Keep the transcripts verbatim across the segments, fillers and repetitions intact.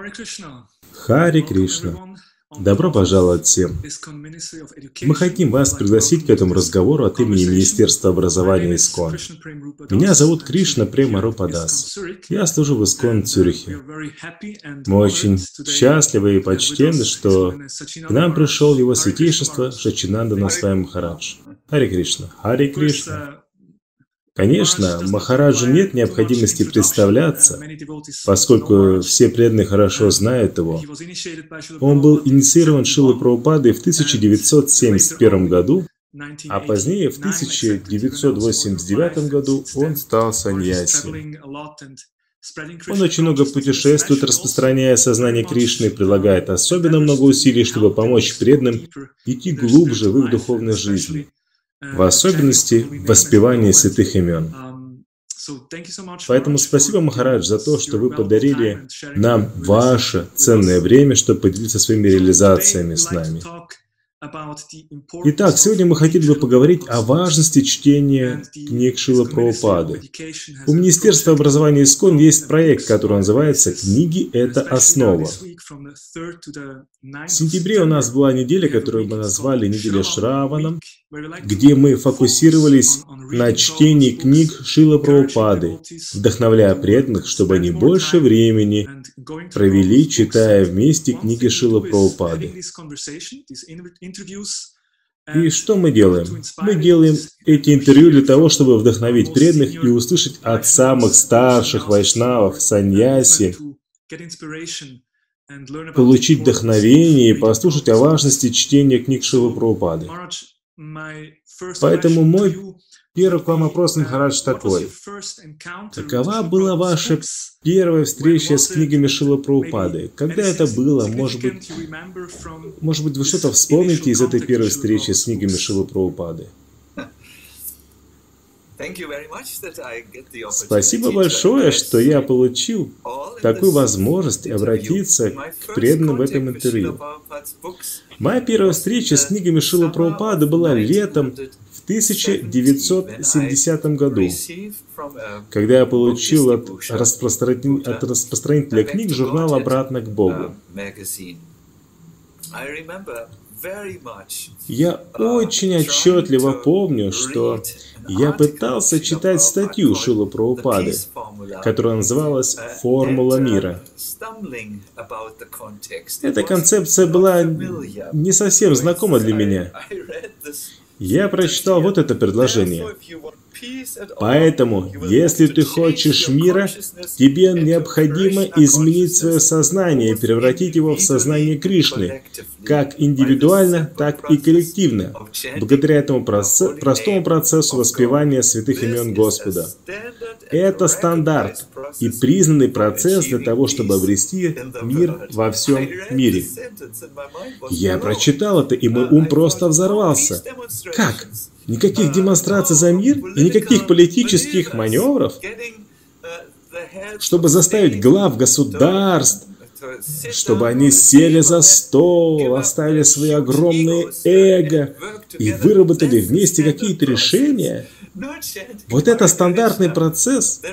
Харе Кришна. Добро пожаловать всем. Мы хотим вас пригласить к этому разговору от имени Министерства образования ИСККОН. Меня зовут Кришна Према Рупадас. Я служу в ИСККОН в Цюрихе. Мы очень счастливы и почтенны, что к нам пришел его святейшество Саччинандана Свами Махарадж. Харе Кришна. Харе Кришна. Конечно, Махараджу нет необходимости представляться, поскольку все преданные хорошо знают его. Он был инициирован Шрилой Прабхупадой в тысяча девятьсот семьдесят первом году, а позднее, в тысяча девятьсот восемьдесят девятом году, он стал саньяси. Он очень много путешествует, распространяя сознание Кришны, прилагает особенно много усилий, чтобы помочь преданным идти глубже в их духовной жизни. В особенности в воспевании святых имен. Поэтому спасибо, Махарадж, за то, что вы подарили нам ваше ценное время, чтобы поделиться своими реализациями с нами. Итак, сегодня мы хотели бы поговорить о важности чтения книг Шрилы Прабхупады. У Министерства образования ИСККОН есть проект, который называется «Книги – это основа». В сентябре у нас была неделя, которую мы назвали «Неделя Шраванам», где мы фокусировались на чтении книг Шрилы Прабхупады, вдохновляя преданных, чтобы они больше времени провели, читая вместе книги Шрилы Прабхупады. И что мы делаем? Мы делаем эти интервью для того, чтобы вдохновить преданных и услышать от самых старших вайшнавов, саньяси, получить вдохновение и послушать о важности чтения книг Шрилы Прабхупады. Поэтому мой первый к вам вопрос, Махарадж, такой. Какова была ваша первая встреча с книгами Шрилы Прабхупады? Когда это было? Может быть, может быть, вы что-то вспомните из этой первой встречи с книгами Шрилы Прабхупады? Спасибо большое, что я получил такую возможность обратиться к преданным в этом интервью. Моя первая встреча с книгами Шрилы Прабхупады была летом в тысяча девятьсот семидесятом году, когда я получил от, распространителя, от распространителя книг журнал «Обратно к Богу». Я очень отчетливо помню, что я пытался читать статью Шрилы Прабхупады, которая называлась «Формула мира». Эта концепция была не совсем знакома для меня. Я прочитал вот это предложение. Поэтому, если ты хочешь мира, тебе необходимо изменить свое сознание и превратить его в сознание Кришны, как индивидуально, так и коллективно, благодаря этому проц... простому процессу воспевания святых имен Господа. Это стандарт и признанный процесс для того, чтобы обрести мир во всем мире. Я прочитал это, и мой ум просто взорвался. Как? Никаких демонстраций за мир и никаких политических маневров, чтобы заставить глав государств, чтобы они сели за стол, оставили свои огромные эго и выработали вместе какие-то решения. Вот это стандартный процесс,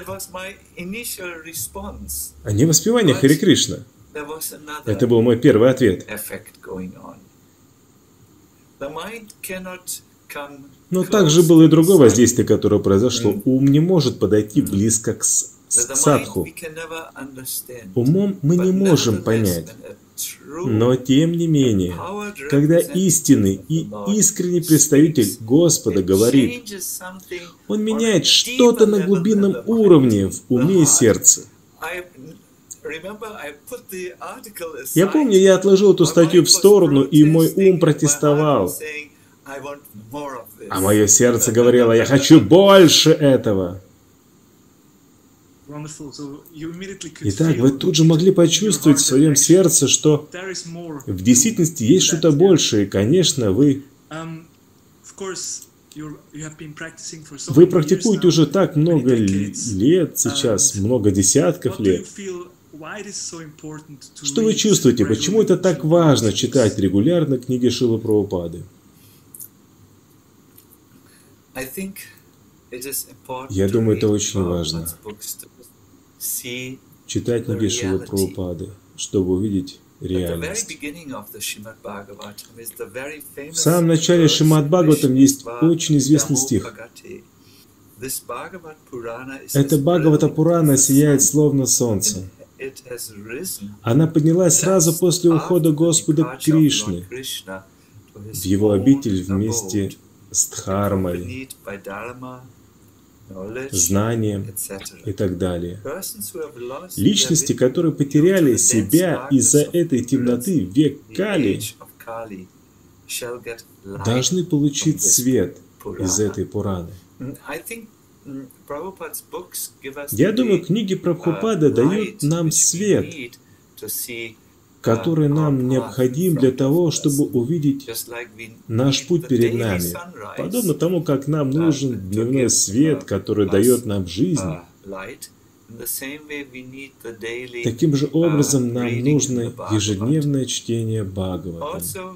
а не воспевание Харе Кришна. Это был мой первый ответ. Но также было и другое воздействие, которое произошло. Ум не может подойти близко к садху. Умом мы не можем понять. Но тем не менее, когда истинный и искренний представитель Господа говорит, он меняет что-то на глубинном уровне в уме и сердце. Я помню, я отложил эту статью в сторону, и мой ум протестовал. А мое сердце говорило, я хочу больше этого. Итак, вы тут же могли почувствовать в своем сердце, что в действительности есть что-то большее. И, конечно, вы, вы практикуете уже так много лет сейчас, много десятков лет. Что вы чувствуете? Почему это так важно читать регулярно книги Шрилы Прабхупады? Я думаю, это очень важно. Читать книги Шрилы Прабхупады, чтобы увидеть реальность. В самом начале Шримад Бхагаватам есть очень известный стих. Это Бхагавата Пурана сияет словно солнце. Она поднялась сразу после ухода Господа Кришны в его обитель вместе с Дхармой, знанием и так далее. Личности, которые потеряли себя из-за этой темноты век Кали, должны получить свет из этой Пураны. Я думаю, книги Прабхупады дают нам свет, который нам необходим для того, чтобы увидеть наш путь перед нами. Подобно тому, как нам нужен дневной свет, который дает нам жизнь, таким же образом нам нужно ежедневное чтение Бхагаватам.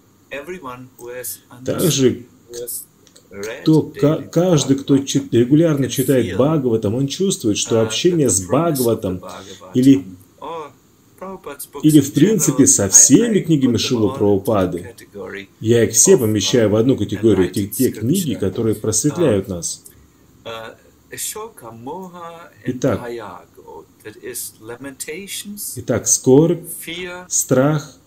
Также кто, каждый, кто регулярно читает Бхагаватам, он чувствует, что общение с Бхагаватам или Или, в принципе, со всеми книгами Шрилы Прабхупады. Я их все помещаю в одну категорию, те, те книги, которые просветляют нас. Итак, итак скорбь, страх,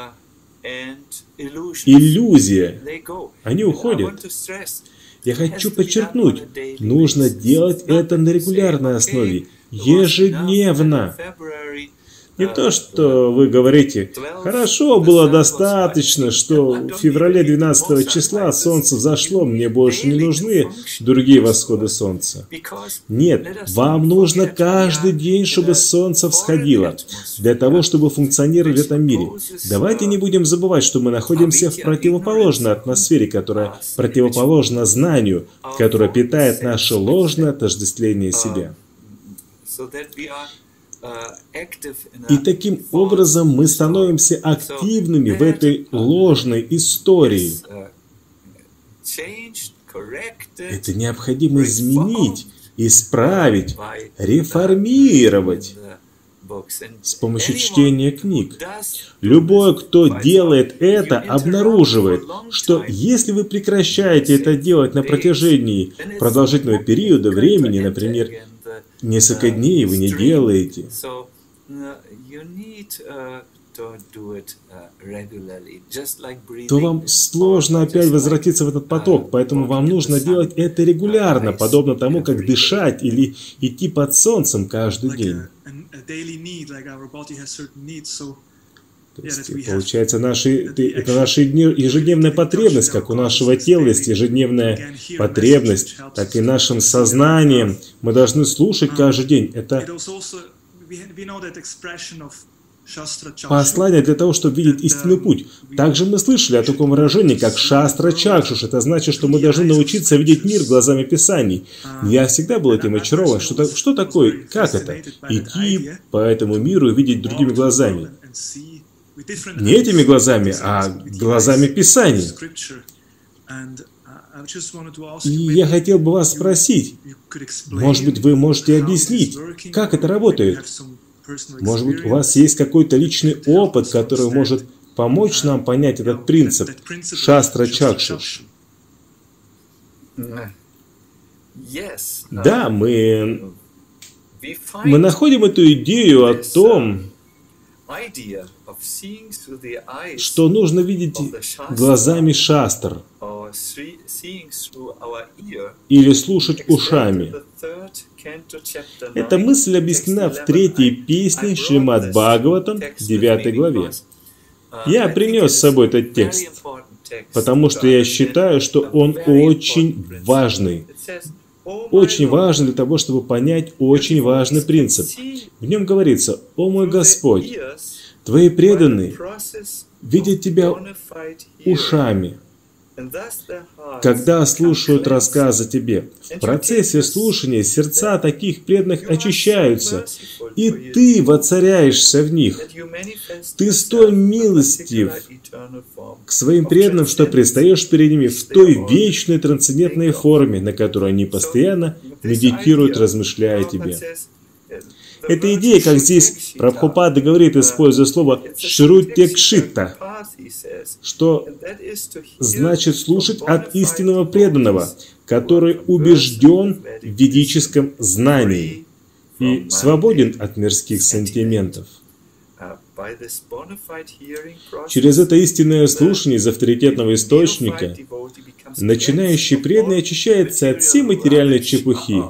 иллюзия, они уходят. Я хочу подчеркнуть, нужно делать это на регулярной основе, ежедневно. Не то, что вы говорите, хорошо, было достаточно, что в феврале двенадцатого числа солнце взошло, мне больше не нужны другие восходы солнца. Нет, вам нужно каждый день, чтобы солнце всходило, для того, чтобы функционировать в этом мире. Давайте не будем забывать, что мы находимся в противоположной атмосфере, которая противоположна знанию, которая питает наше ложное отождествление себя. И таким образом мы становимся активными в этой ложной истории. Это необходимо изменить, исправить, реформировать с помощью чтения книг. Любой, кто делает это, обнаруживает, что если вы прекращаете это делать на протяжении продолжительного периода времени, например, несколько дней вы не делаете, то вам сложно опять возвратиться в этот поток, поэтому вам нужно делать это регулярно, подобно тому, как дышать или идти под солнцем каждый день. То есть, получается, наши, это наша ежедневная потребность, как у нашего тела есть ежедневная потребность, так и нашим сознанием мы должны слушать каждый день. Это послание для того, чтобы видеть истинный путь. Также мы слышали о таком выражении, как шастра чакшуш. Это значит, что мы должны научиться видеть мир глазами Писаний. Я всегда был этим очарован. Что, что такое? Как это? Идти по этому миру и видеть другими глазами. Не этими глазами, а глазами Писаний. И я хотел бы вас спросить, может быть, вы можете объяснить, как это работает? Может быть, у вас есть какой-то личный опыт, который может помочь нам понять этот принцип шастра чакшуш? Да, мы, мы находим эту идею о том, что нужно видеть глазами шастр или слушать ушами. Эта мысль объяснена в третьей песне Шримад Бхагаватам, девятой главе. Я принес с собой этот текст, потому что я считаю, что он очень важный. Очень важен для того, чтобы понять очень важный принцип. В нем говорится: «О мой Господь, Твои преданные видят Тебя ушами, когда слушают рассказ о Тебе. В процессе слушания сердца таких преданных очищаются, и Ты воцаряешься в них. Ты столь милостив к своим преданным, что предстаешь перед ними в той вечной трансцендентной форме, на которой они постоянно медитируют, размышляя о Тебе». Эта идея, как здесь Прабхупада говорит, используя слово «шрутекшита», что значит слушать от истинного преданного, который убежден в ведическом знании и свободен от мирских сантиментов. Через это истинное слушание из авторитетного источника начинающий преданный очищается от всей материальной чепухи.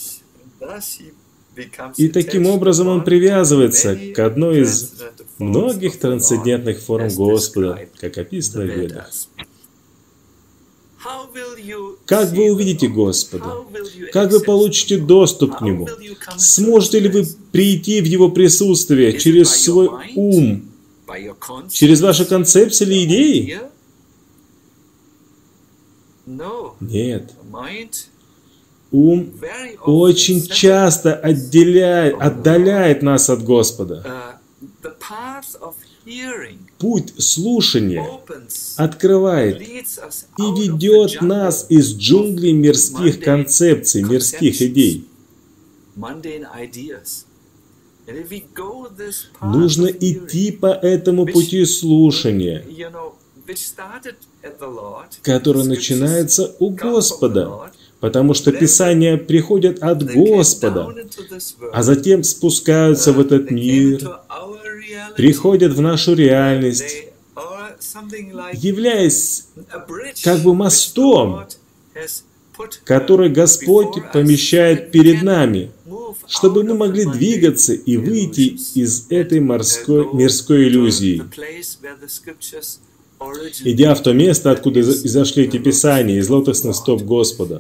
И таким образом он привязывается к одной из многих трансцендентных форм Господа, как описано в Ведах. Как вы увидите Господа? Как вы получите доступ к Нему? Сможете ли вы прийти в Его присутствие через свой ум, через ваши концепции или идеи? Нет. Ум очень часто отделяет, отдаляет нас от Господа. Путь слушания открывает и ведет нас из джунглей мирских концепций, мирских идей. Нужно идти по этому пути слушания, который начинается у Господа, потому что Писания приходят от Господа, а затем спускаются в этот мир, приходят в нашу реальность, являясь как бы мостом, который Господь помещает перед нами, чтобы мы могли двигаться и выйти из этой морской, мирской иллюзии, идя в то место, откуда изошли эти Писания, из лотосных стоп Господа.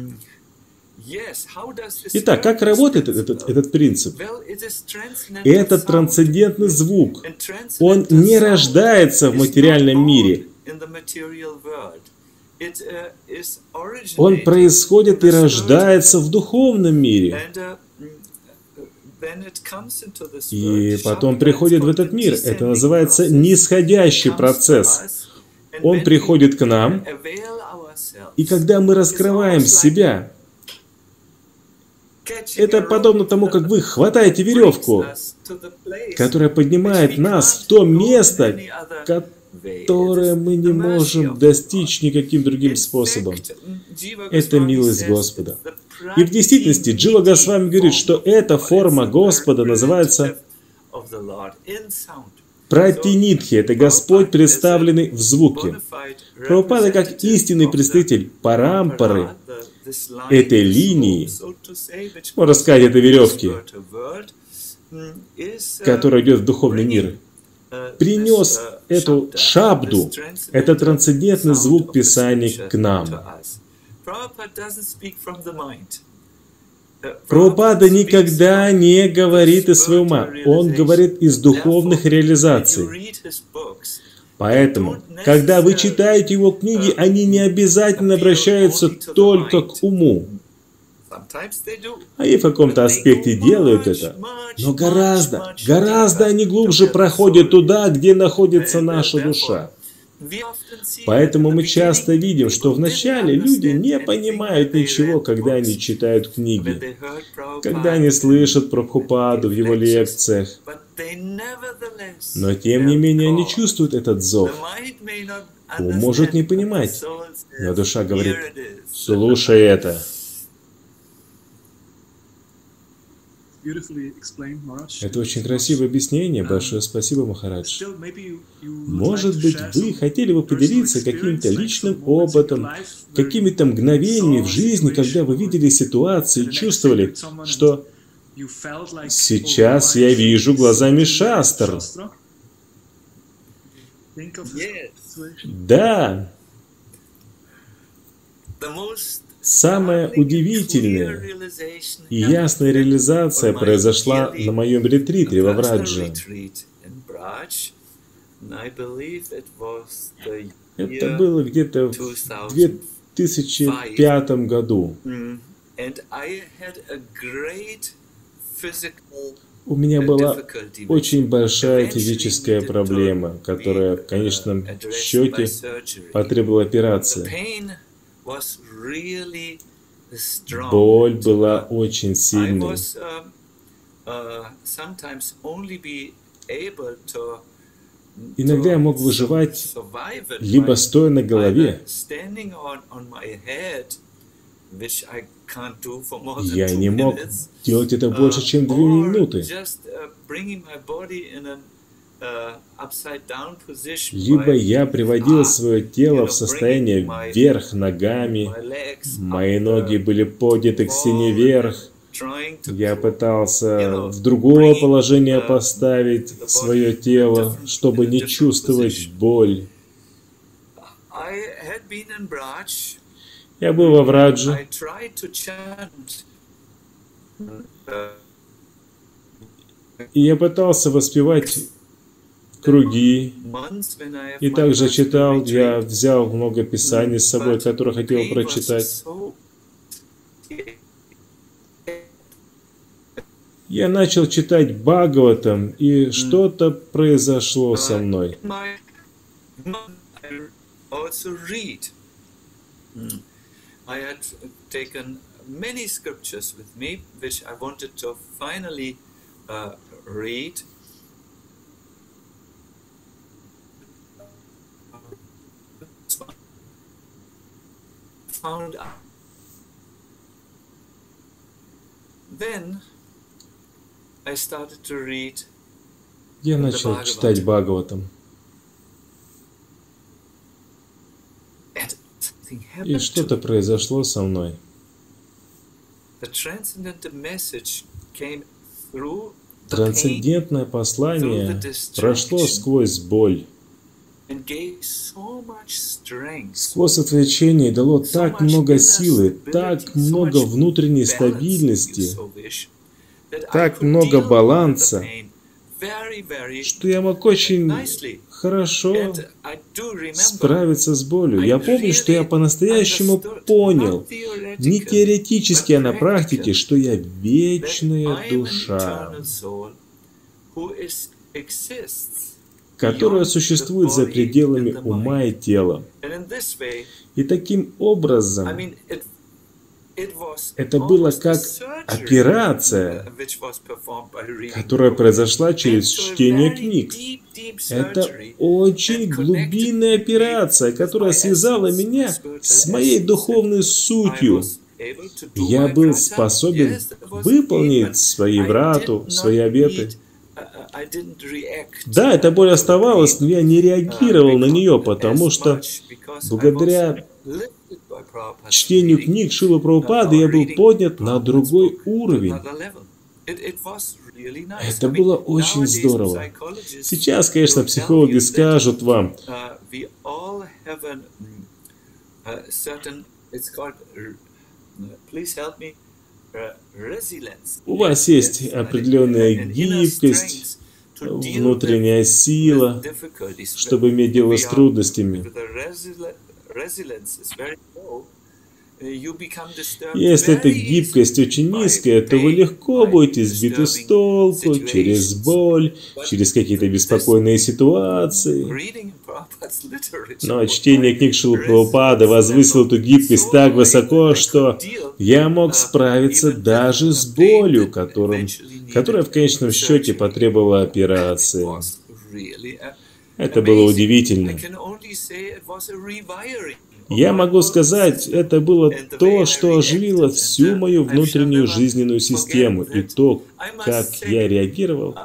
Итак, как работает этот, этот принцип? Этот трансцендентный звук, он не рождается в материальном мире. Он происходит и рождается в духовном мире. И потом приходит в этот мир. Это называется нисходящий процесс. Он приходит к нам, и когда мы раскрываем себя, это подобно тому, как вы хватаете веревку, которая поднимает нас в то место, которое мы не можем достичь никаким другим способом. Это милость Господа. И в действительности Джива Госвами говорит, что эта форма Господа называется Пратинидхи. Это Господь, представленный в звуке. Прабхупада, как истинный представитель парампары, этой линии, можно сказать, этой веревки, которая идет в духовный мир, принес эту шабду, этот трансцендентный звук Писаний к нам. Прабхупада никогда не говорит из своего ума, он говорит из духовных реализаций. Поэтому, когда вы читаете его книги, они не обязательно обращаются только к уму. Они в каком-то аспекте делают это, но гораздо, гораздо они глубже проходят туда, где находится наша душа. Поэтому мы часто видим, что вначале люди не понимают ничего, когда они читают книги, когда они слышат Прабхупаду в его лекциях. Но тем не менее они чувствуют этот зов. Ум может не понимать, но душа говорит: слушай это. Это очень красивое объяснение. Большое спасибо, Махарадж. Может быть, вы хотели бы поделиться каким-то личным опытом, какими-то мгновениями в жизни, когда вы видели ситуации и чувствовали, что сейчас я вижу глазами Шастр. Да. Самая удивительная и ясная реализация произошла на моем ретрите во Врадже. Это было где-то в две тысячи пятом году. У меня была очень большая физическая проблема, которая в конечном счете потребовала операции. Боль была очень сильной. Иногда я мог выживать либо стоя на голове. Я не мог делать это больше, чем две минуты. Либо я приводил свое тело в состояние вверх ногами, мои ноги были подняты к стене вверх. Я пытался в другое положение поставить свое тело, чтобы не чувствовать боль. Я был во Врадже. И я пытался воспевать круги. И также читал, я взял много писаний с собой, которые хотел прочитать. Я начал читать Бхагаватам, и что-то произошло со мной. I had taken many scriptures with me, which I wanted to finally uh, read. Found out. Then I started to read. Я начал читать Бхагаватам. И что-то произошло со мной. Трансцендентное послание прошло сквозь боль, сквозь отвлечение, и дало так много силы, так много внутренней стабильности, так много баланса, что я мог очень хорошо справиться с болью. Я помню, что я по-настоящему понял, не теоретически, а на практике, что я вечная душа, которая существует за пределами ума и тела. И таким образом, это было как операция, которая произошла через чтение книг. Это очень глубинная операция, которая связала меня с моей духовной сутью. Я был способен выполнить свои врату, свои обеты. Да, эта боль оставалась, но я не реагировал на нее, потому что благодаря чтению книг Шрилы Прабхупады я был поднят на другой уровень. Это было очень здорово. Сейчас, конечно, психологи скажут вам, у вас есть определенная гибкость, внутренняя сила, чтобы иметь дело с трудностями. Если эта гибкость очень низкая, то вы легко будете сбиты с толку через боль, через какие-то беспокойные ситуации. Но чтение книг Шрилы Прабхупады возвысило эту гибкость так высоко, что я мог справиться даже с болью, которым, которая в конечном счете потребовала операции. Это было удивительно. Я могу сказать, это было то, что оживило всю мою внутреннюю жизненную систему, и то, как я реагировал.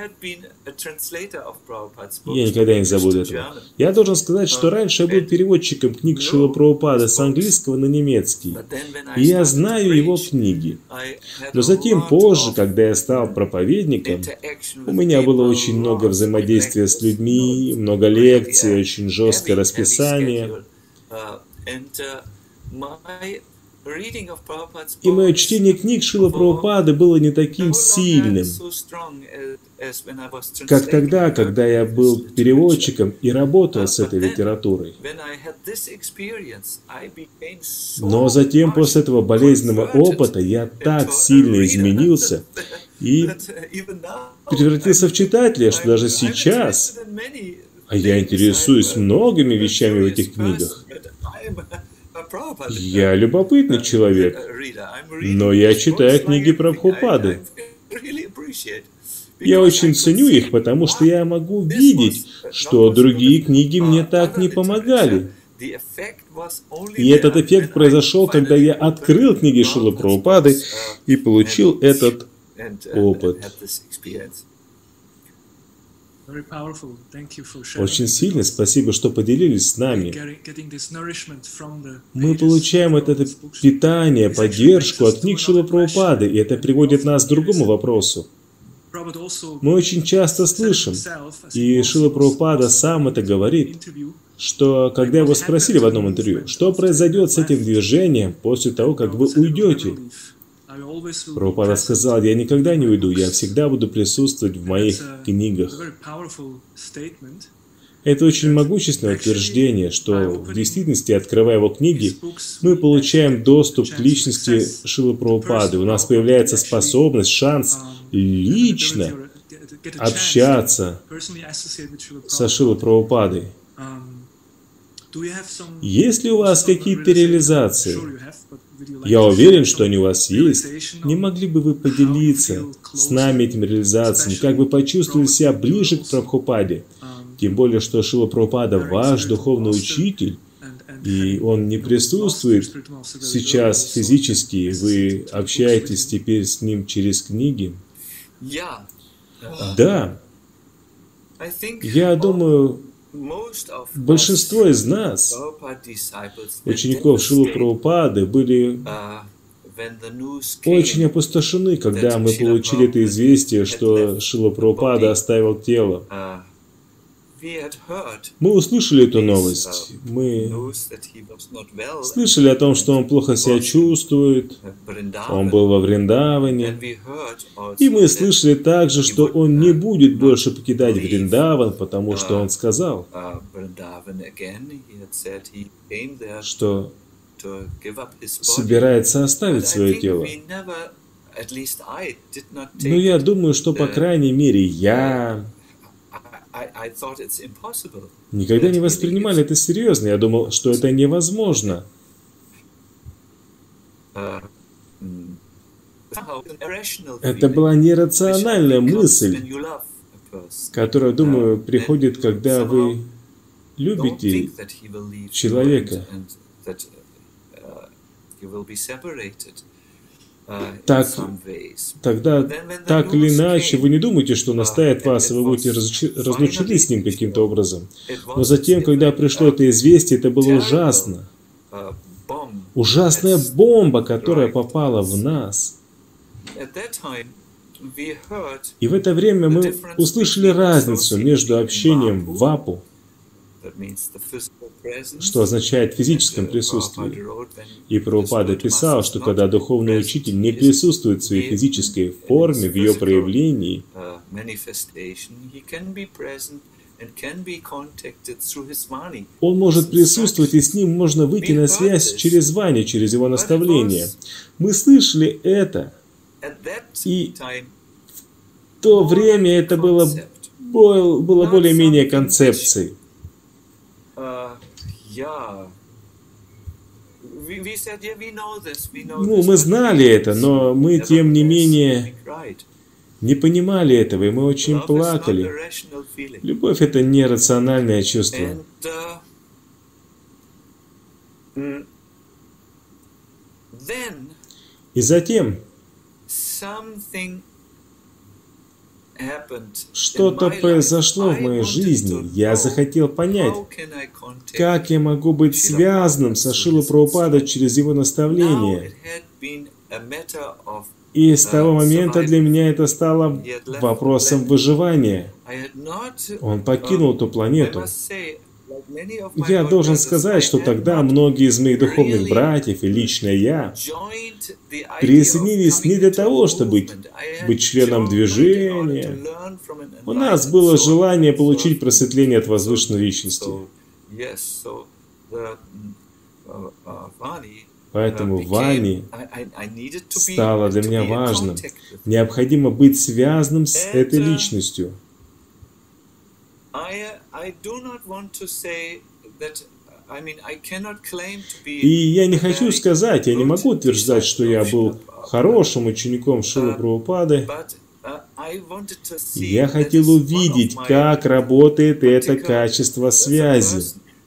Я никогда не забуду этого. Я должен сказать, что раньше я был переводчиком книг Шрилы Прабхупады с английского на немецкий, и я знаю его книги. Но затем, позже, когда я стал проповедником, у меня было очень много взаимодействия с людьми, много лекций, очень жесткое расписание. И мое чтение книг Шрилы Прабхупады было не таким сильным, как тогда, когда я был переводчиком и работал с этой литературой. Но затем, после этого болезненного опыта, я так сильно изменился и превратился в читателя, что даже сейчас, а я интересуюсь многими вещами в этих книгах. Я любопытный человек, но я читаю книги Прабхупады. Я очень ценю их, потому что я могу видеть, что другие книги мне так не помогали. И этот эффект произошел, когда я открыл книги Шрилы Прабхупады и получил этот опыт. Очень сильно спасибо, что поделились с нами. Мы получаем это питание, поддержку от книг Шрилы Прабхупады, и это приводит нас к другому вопросу. Мы очень часто слышим, и Шрила Прабхупада сам это говорит, что когда его спросили в одном интервью, что произойдет с этим движением после того, как вы уйдете, Прабхупада сказал: я никогда не уйду, я всегда буду присутствовать в моих книгах. Это очень могущественное утверждение, что в действительности, открывая его книги, мы получаем доступ к личности Шрилы Прабхупады. У нас появляется способность, шанс лично общаться со Шрилой Прабхупадой. Есть ли у вас какие-то реализации? Я уверен, что они у вас есть. Не могли бы вы поделиться с нами этими реализациями? Как вы почувствовали себя ближе к Прабхупаде? Тем более, что Шрила Прабхупада ваш духовный учитель, и он не присутствует сейчас физически, вы общаетесь теперь с ним через книги. Да. Я думаю, большинство из нас, учеников Шрилы Прабхупады, были очень опустошены, когда мы получили это известие, что Шрила Прабхупада оставил тело. Мы услышали эту новость. Мы слышали о том, что он плохо себя чувствует. Он был во Вриндаване. И мы слышали также, что он не будет больше покидать Вриндаван, потому что он сказал, что собирается оставить свое тело. Но я думаю, что, по крайней мере, я никогда не воспринимали это серьезно. Я думал, что это невозможно. Это была нерациональная мысль, которая, думаю, приходит, когда вы любите человека. Так, тогда, так или иначе, вы не думаете, что он оставит вас, и вы будете разлучены с ним каким-то образом. Но затем, когда пришло это известие, это было ужасно. Ужасная бомба, которая попала в нас. И в это время мы услышали разницу между общением в вапу, что означает физическом присутствии. И Прабхупада писал, что когда духовный учитель не присутствует в своей физической форме, в ее проявлении, он может присутствовать, и с ним можно выйти на связь через вани, через его наставление. Мы слышали это, и в то время это было, было более-менее концепцией. Ну, мы знали это, но мы, тем не менее, не понимали этого, и мы очень плакали. Любовь — это нерациональное чувство. И затем что-то произошло в моей жизни. Я захотел понять, как я могу быть связанным со Шрилой Прабхупадой через его наставление. И с того момента для меня это стало вопросом выживания. Он покинул эту планету. Я должен сказать, что тогда многие из моих духовных братьев и лично я присоединились не для того, чтобы быть, быть членом движения. У нас было желание получить просветление от возвышенной личности. Поэтому Вани стало для меня важным. Необходимо быть связанным с этой личностью. И я не хочу сказать, я не могу утверждать, что я был хорошим учеником Шрилы Прабхупады, Я хотел увидеть, как работает это качество связи.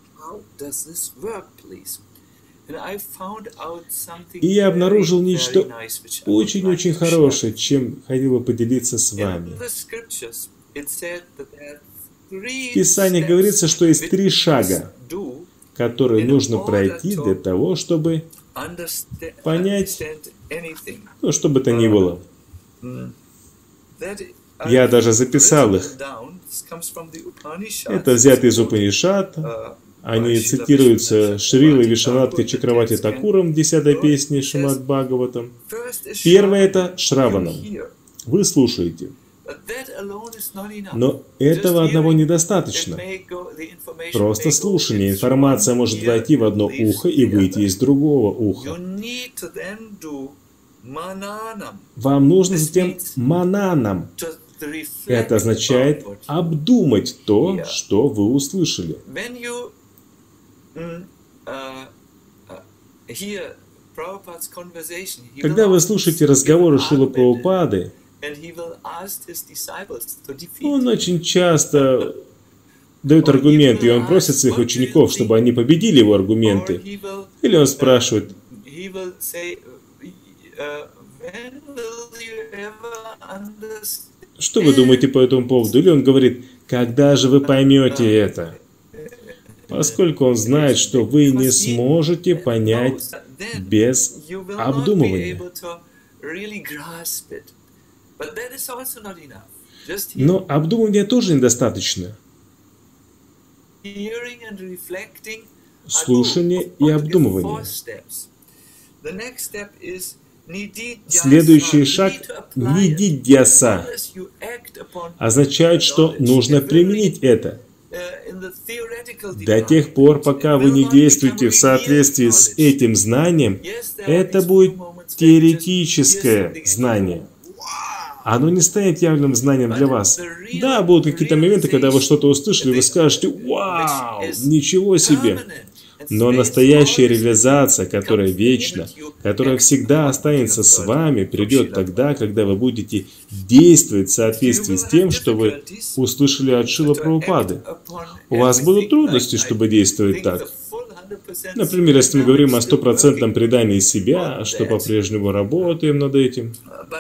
И я обнаружил нечто очень-очень хорошее, чем хотел бы поделиться с вами. В Писании говорится, что есть три шага, которые нужно пройти для того, чтобы понять, ну, что бы то ни было. Я даже записал их. Это взято из Упанишад. Они цитируются Шрилой Вишванатхой Чакраварти Такуром в десятой песне Шримад Бхагаватам. Первое — это Шраванам. Вы слушаете. Но этого одного недостаточно. Просто слушание. Информация может войти в одно ухо и выйти из другого уха. Вам нужно затем мананам. Это означает обдумать то, что вы услышали. Когда вы слушаете разговоры Шрилы Прабхупады, он очень часто дает аргументы, и он просит своих учеников, чтобы они победили его аргументы. Или он спрашивает: что вы думаете по этому поводу? Или он говорит: когда же вы поймете это? Поскольку он знает, что вы не сможете понять без обдумывания. Но обдумывания тоже недостаточно. Слушание и обдумывание. Следующий шаг — нидидьяса. Означает, что нужно применить это. До тех пор, пока вы не действуете в соответствии с этим знанием, это будет теоретическое знание. Оно не станет явным знанием для вас. Да, будут какие-то моменты, когда вы что-то услышали, вы скажете: «Вау! Ничего себе!» Но настоящая реализация, которая вечна, которая всегда останется с вами, придет тогда, когда вы будете действовать в соответствии с тем, что вы услышали от Шрилы Прабхупады. У вас будут трудности, чтобы действовать так. Например, если мы говорим о стопроцентном предании себя, что по-прежнему работаем над этим.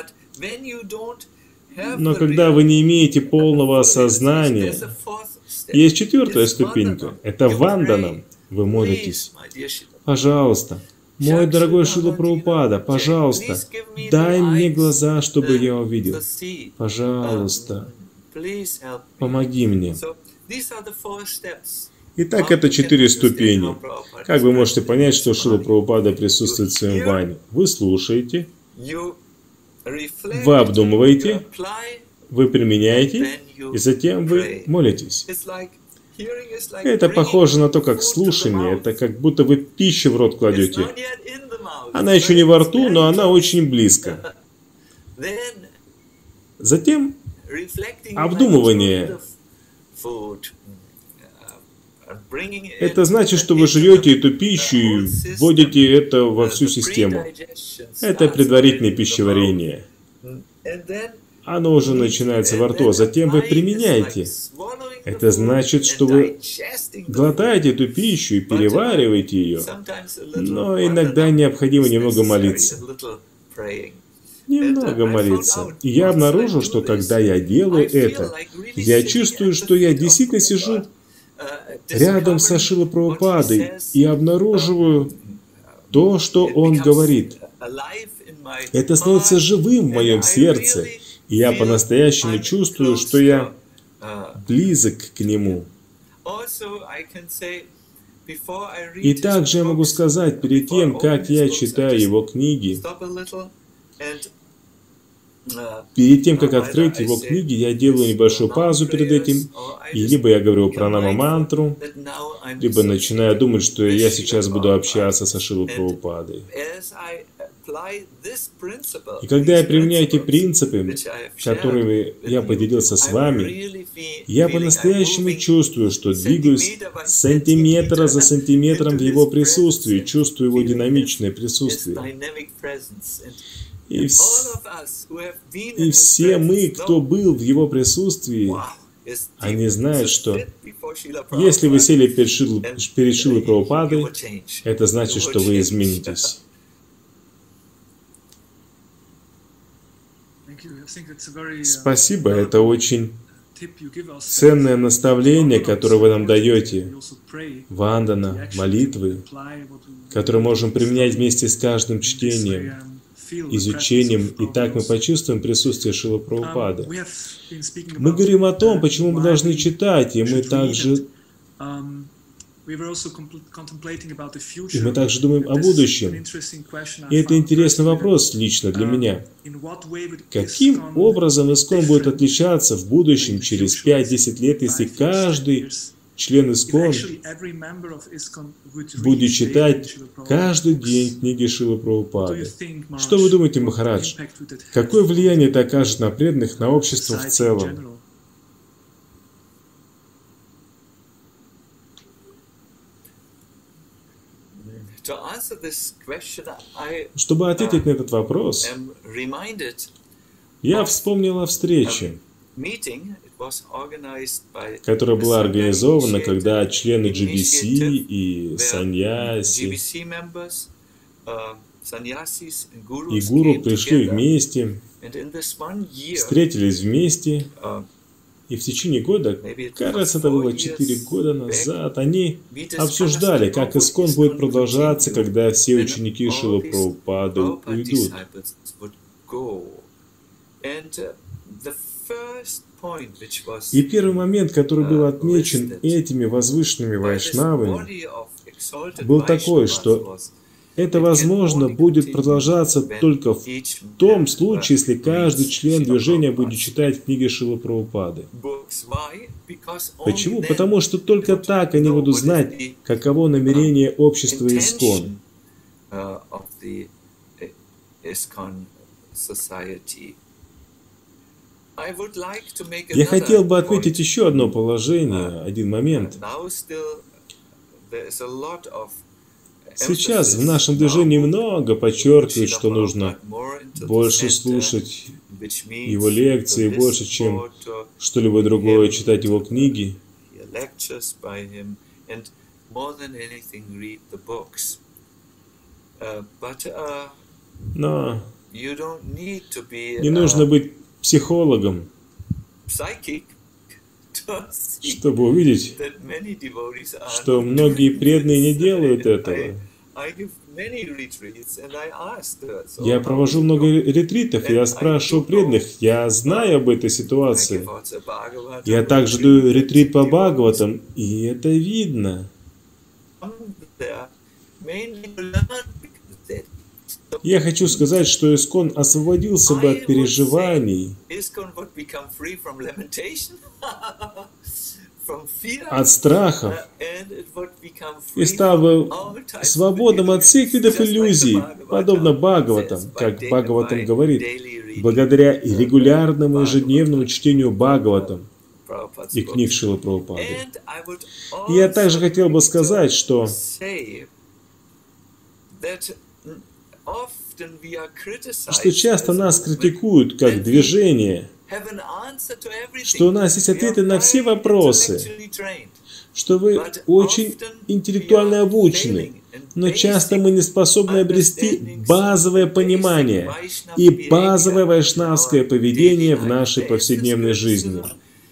Но когда вы не имеете полного осознания, есть четвертая ступенька. Это ванданам. Вы молитесь: пожалуйста, мой дорогой Шрила Прабхупада, пожалуйста, дай мне глаза, чтобы я увидел. Пожалуйста, помоги мне. Итак, это четыре ступени. Как вы можете понять, что Шрила Прабхупада присутствует в своем ване? Вы слушаете, вы обдумываете, вы применяете, и затем вы молитесь. Это похоже на то, как слушание. Это как будто вы пищу в рот кладете. Она еще не во рту, но она очень близко. Затем обдумывание. Это значит, что вы жуете эту пищу и вводите это во всю систему. Это предварительное пищеварение. Оно уже начинается во рту, а затем вы применяете. Это значит, что вы глотаете эту пищу и перевариваете ее. Но иногда необходимо немного молиться. Немного молиться. И я обнаружил, что когда я делаю это, я чувствую, что я действительно сижу рядом со Шрилой Прабхупадой и обнаруживаю то, что он говорит. Это становится живым в моем сердце. И я по-настоящему чувствую, что я близок к нему. И также я могу сказать, перед тем, как я читаю его книги, перед тем, как открыть его книги, я делаю небольшую паузу перед этим, и либо я говорю пранама-мантру, либо начинаю думать, что я сейчас буду общаться со Шрилой Прабхупадой. И когда я применяю эти принципы, которыми я поделился с вами, я по-настоящему чувствую, что двигаюсь сантиметр за сантиметром в его присутствии, чувствую его динамичное присутствие. И, вс... и все мы, кто был в его присутствии, они знают, что если вы сели перед Шилой, перед Шилой Прабхупадой, это значит, что вы изменитесь. Спасибо, это очень ценное наставление, которое вы нам даете. Вандана, молитвы, которые можем применять вместе с каждым чтением, изучением, и так мы почувствуем присутствие Шилы Прабхупады. Мы говорим о том, почему мы должны читать, и мы также, и мы также думаем о будущем. И это интересный вопрос лично для меня. Каким образом ИСККОН будет отличаться в будущем, через пять-десять лет, если каждый член ИСККОН будет читать каждый день книги Шилы Прабхупады? Что вы думаете, Махарадж? Какое влияние это окажет на преданных, на общество в целом? Чтобы ответить на этот вопрос, я вспомнил о встрече, которая была организована, когда члены джи би си и саньяси и гуру пришли вместе, встретились вместе, и в течение года, кажется, это было четыре года назад, они обсуждали, как ИСККОН будет продолжаться, когда все ученики Шилы Прабхупады уйдут. И первый момент, который был отмечен этими возвышенными вайшнавами, был такой, что это, возможно, будет продолжаться только в том случае, если каждый член движения будет читать книги Шилы Прабхупады. Почему? Потому что только так они будут знать, каково намерение общества ИСККОН. Я хотел бы отметить еще одно положение, один момент. Сейчас в нашем движении много подчеркивают, что нужно больше слушать его лекции, больше, чем что-либо другое, читать его книги. Но не нужно быть психологом, чтобы увидеть, что многие преданные не делают этого. Я провожу много ретритов, и я спрашиваю преданных, я знаю об этой ситуации. Я также даю ретрит по Бхагаватам, и это видно. Я хочу сказать, что ИСККОН освободился бы от переживаний, от страхов, и стал бы свободным от всех видов иллюзий, подобно Бхагаватам, как Бхагаватам говорит, благодаря регулярному ежедневному чтению Бхагаватам и книг Шилы Прабхупады. И я также хотел бы сказать, что что часто нас критикуют как движение, что у нас есть ответы на все вопросы, что вы очень интеллектуально обучены, но часто мы не способны обрести базовое понимание и базовое вайшнавское поведение в нашей повседневной жизни.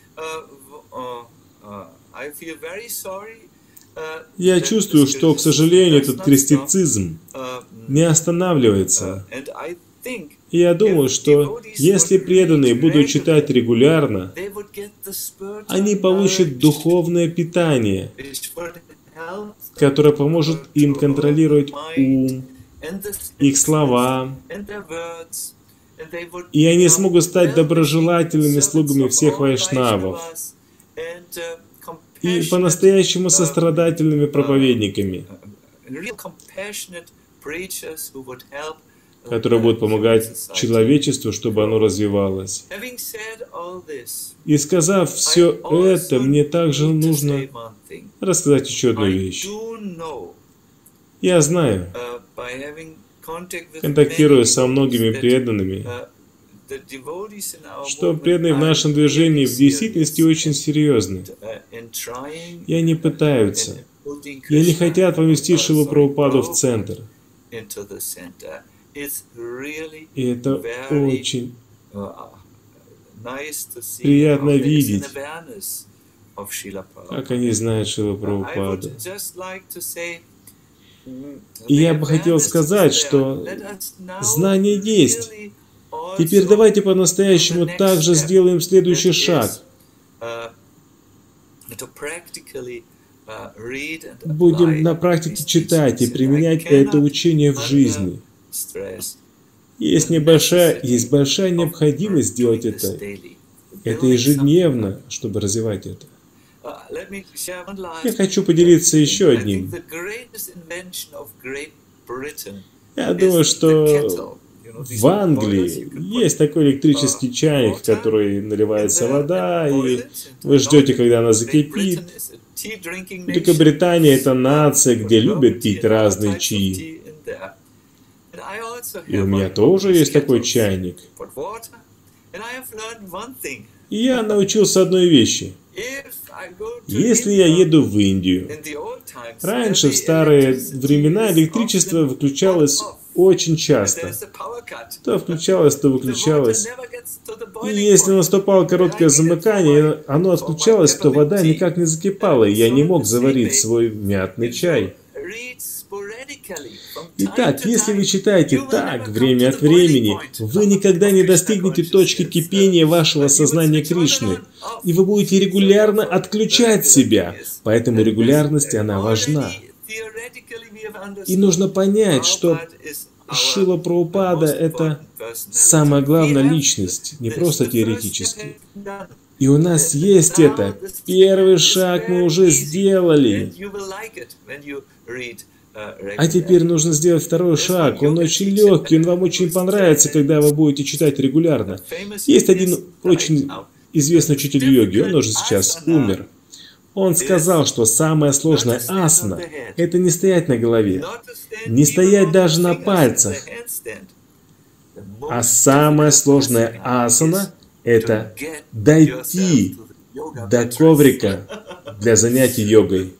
Я чувствую, что, к сожалению, этот критицизм не останавливается. И я думаю, что если преданные будут читать регулярно, они получат духовное питание, которое поможет им контролировать ум, их слова, и они смогут стать доброжелательными слугами всех вайшнавов и по-настоящему сострадательными проповедниками, которые будут помогать человечеству, чтобы оно развивалось. И сказав все это, мне также нужно рассказать еще одну вещь. Я знаю, контактируя со многими преданными, что преданные в нашем движении в действительности очень серьезны. И они пытаются, и они хотят поместить Шрилу Прабхупаду в центр. И это очень приятно видеть, как они знают Шрилу Прабхупаду. И я бы хотел сказать, что знание есть. Теперь давайте по-настоящему также сделаем следующий шаг. Будем на практике читать и применять это учение в жизни. Есть небольшая, есть большая необходимость сделать это. Это ежедневно, чтобы развивать это. Я хочу поделиться еще одним. Я думаю, что в Англии есть такой электрический чайник, в который наливается вода, и вы ждете, когда она закипит. Великобритания — это нация, где любят пить разные чаи. И у меня тоже есть такой чайник. И я научился одной вещи. Если я еду в Индию, раньше, в старые времена, электричество выключалось очень часто. То включалось, то выключалось. И если наступало короткое замыкание, оно отключалось, то вода никак не закипала, и я не мог заварить свой мятный чай. Итак, если вы читаете так, время от времени, вы никогда не достигнете точки кипения вашего сознания Кришны, и вы будете регулярно отключать себя, поэтому регулярность, она важна. И нужно понять, что Шрила Прабхупада — это самая главная личность, не просто теоретически. И у нас есть это. Первый шаг мы уже сделали. А теперь нужно сделать второй шаг. Он очень легкий, он вам очень понравится, когда вы будете читать регулярно. Есть один очень известный учитель йоги, он уже сейчас умер. Он сказал, что самая сложная асана – это не стоять на голове, не стоять даже на пальцах. А самая сложная асана – это дойти до коврика для занятий йогой.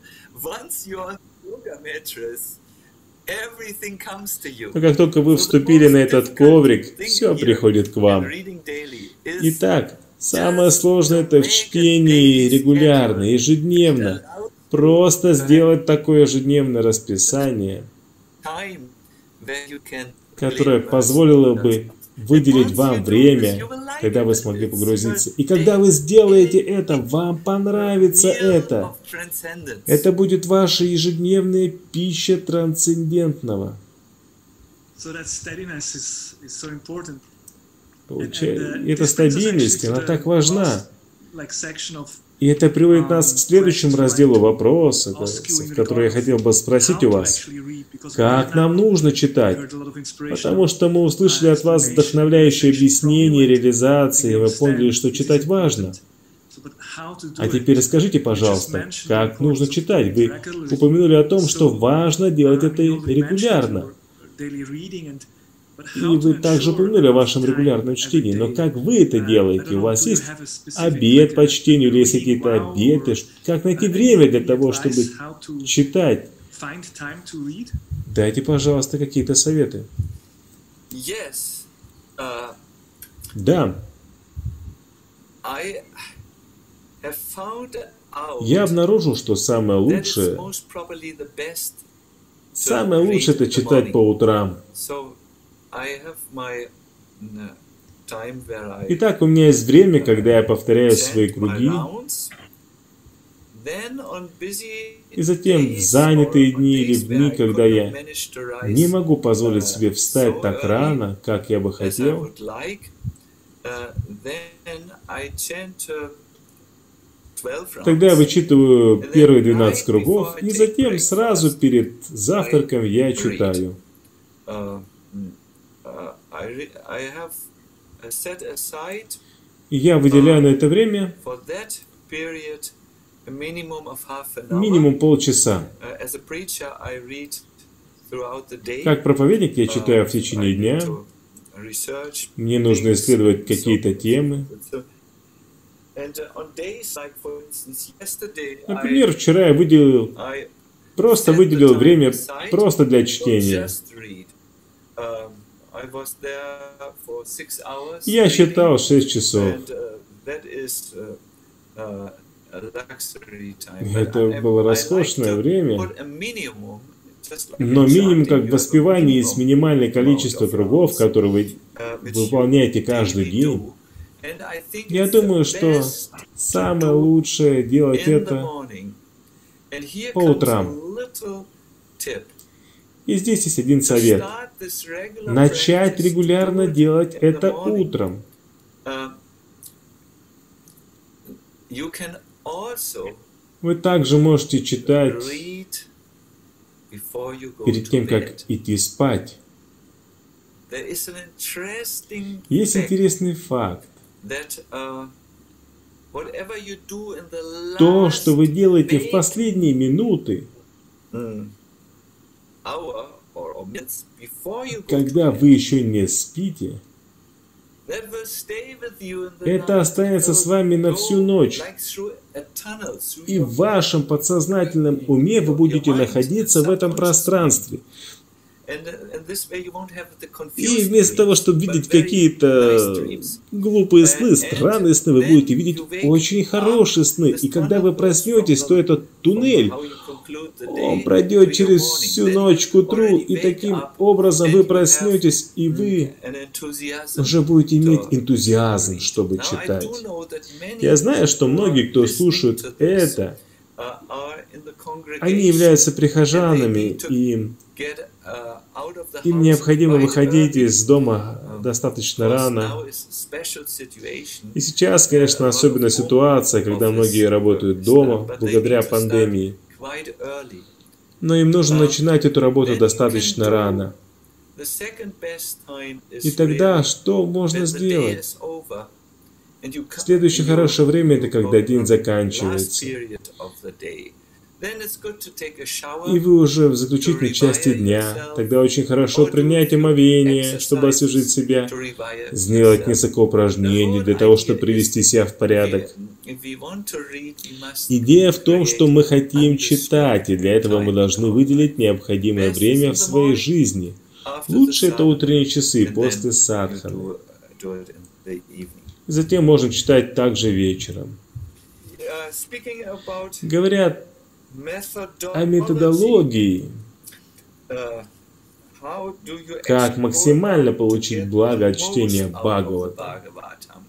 Но как только вы вступили на этот коврик, все приходит к вам. Итак, самое сложное — это в чтении регулярно, ежедневно. Просто сделать такое ежедневное расписание, которое позволило бы выделить вам время, когда вы смогли погрузиться. И когда вы сделаете это, вам понравится это. Это будет ваша ежедневная пища трансцендентного. И эта стабильность, она так важна. И это приводит нас к следующему разделу вопроса, который я хотел бы спросить у вас. Как нам нужно читать? Потому что мы услышали от вас вдохновляющие объяснения, реализации, и вы поняли, что читать важно. А теперь скажите, пожалуйста, как нужно читать? Вы упомянули о том, что важно делать это регулярно. И вы также упомянули о вашем регулярном чтении. Но как вы это делаете? У вас есть обед по чтению, или есть какие-то обеты? Как найти время для того, чтобы читать? Дайте, пожалуйста, какие-то советы. Да. Я обнаружил, что самое лучшее, самое лучшее — это читать по утрам. Итак, у меня есть время, когда я повторяю свои круги, и затем в занятые дни или в дни, когда я не могу позволить себе встать так рано, как я бы хотел, тогда я вычитываю первые двенадцать кругов, и затем сразу перед завтраком я читаю. И я выделяю на это время минимум полчаса. Как проповедник я читаю в течение дня, мне нужно исследовать какие-то темы. Например, вчера я выделил, просто выделил время просто для чтения. Я читал шесть часов. Это было роскошное время, но минимум как воспевание с минимальное количество кругов, которые вы выполняете каждый день. Я думаю, что самое лучшее делать это по утрам. И здесь есть один совет. Начать регулярно делать это утром. Вы также можете читать перед тем, как идти спать. Есть интересный факт. То, что вы делаете в последние минуты, когда вы еще не спите, это останется с вами на всю ночь. И в вашем подсознательном уме вы будете находиться в этом пространстве. И вместо того, чтобы видеть какие-то глупые сны, странные сны, вы будете видеть очень хорошие сны. И когда вы проснетесь, то этот туннель, он пройдет через всю ночь к утру, и таким образом вы проснетесь, и вы уже будете иметь энтузиазм, чтобы читать. Я знаю, что многие, кто слушают это, они являются прихожанами, и им необходимо выходить из дома достаточно рано. И сейчас, конечно, особенная ситуация, когда многие работают дома благодаря пандемии. Но им нужно начинать эту работу достаточно рано. И тогда что можно сделать? Следующее хорошее время — это когда день заканчивается. И вы уже в заключительной части дня. Тогда очень хорошо принять омовение, чтобы освежить себя, сделать несколько упражнений для того, чтобы привести себя в порядок. Идея в том, что мы хотим читать, и для этого мы должны выделить необходимое время в своей жизни. Лучше это утренние часы после садханы. Затем можно читать также вечером. Говорят о методологии, как максимально получить благо от чтения Бхагаватам.